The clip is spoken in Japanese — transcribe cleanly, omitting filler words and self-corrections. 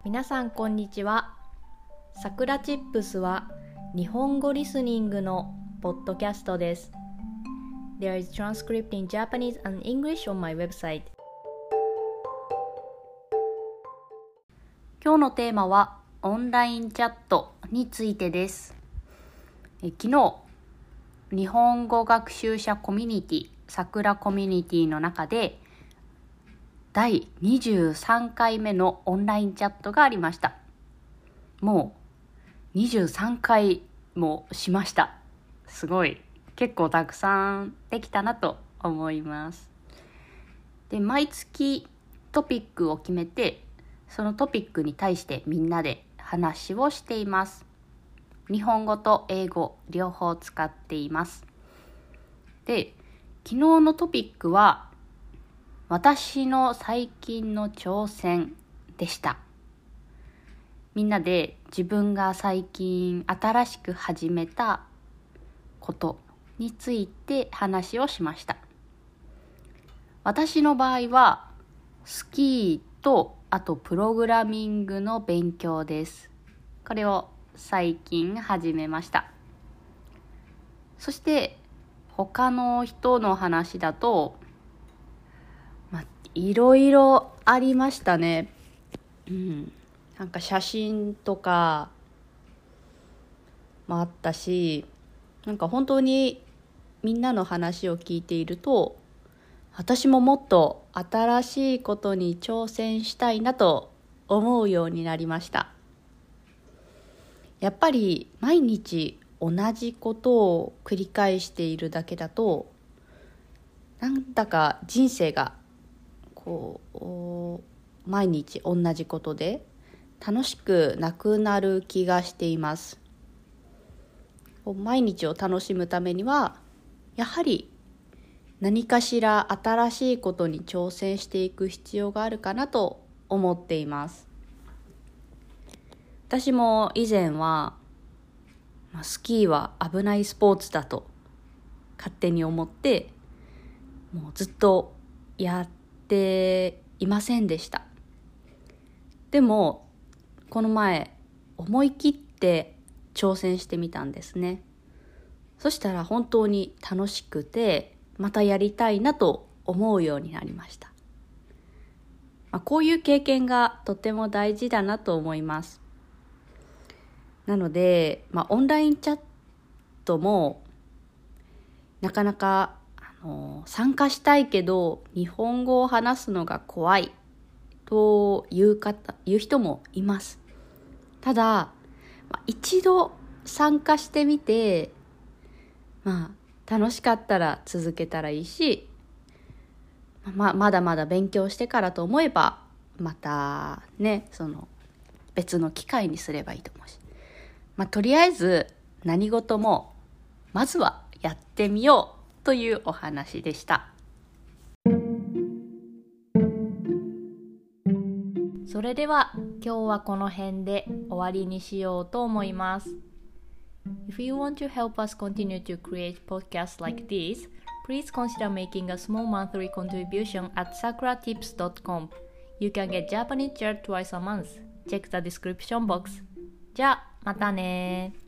皆さんこんにちは。さくらチップスは日本語リスニングのポッドキャストです。There is transcript in Japanese and English on my website. 今日のテーマはオンラインチャットについてです。昨日、日本語学習者コミュニティ、さくらコミュニティの中で第23回目のオンラインチャットがありました。もう23回もしました。すごい。結構たくさんできたなと思います。で、毎月トピックを決めて、そのトピックに対してみんなで話をしています。日本語と英語両方使っています。で、昨日のトピックは私の最近の挑戦でした。みんなで自分が最近新しく始めたことについて話をしました。私の場合はスキーとあとプログラミングの勉強です。これを最近始めました。そして他の人の話だと、いろいろありましたね。なんか写真とかもあったし、なんか本当にみんなの話を聞いていると、私ももっと新しいことに挑戦したいなと思うようになりました。やっぱり毎日同じことを繰り返しているだけだと、なんだか人生が毎日同じことで楽しくなくなる気がしています。毎日を楽しむためにはやはり何かしら新しいことに挑戦していく必要があるかなと思っています。私も以前はスキーは危ないスポーツだと勝手に思ってもうずっとやっていませんでした。でもこの前思い切って挑戦してみたんですね。そしたら本当に楽しくてまたやりたいなと思うようになりました。こういう経験がとても大事だなと思います。なので、オンラインチャットもなかなか参加したいけど日本語を話すのが怖いという人もいます。ただ、一度参加してみて、楽しかったら続けたらいいし、まだまだ勉強してからと思えばまたね、別の機会にすればいいと思うし、とりあえず何事もまずはやってみようというお話でした。それでは今日はこの辺で終わりにしようと思います。If you want to help us continue to create podcasts like this, please consider making a small monthly contribution at sakuratips.com. You can get Japanese chat twice a month. Check the description box. じゃあまたね。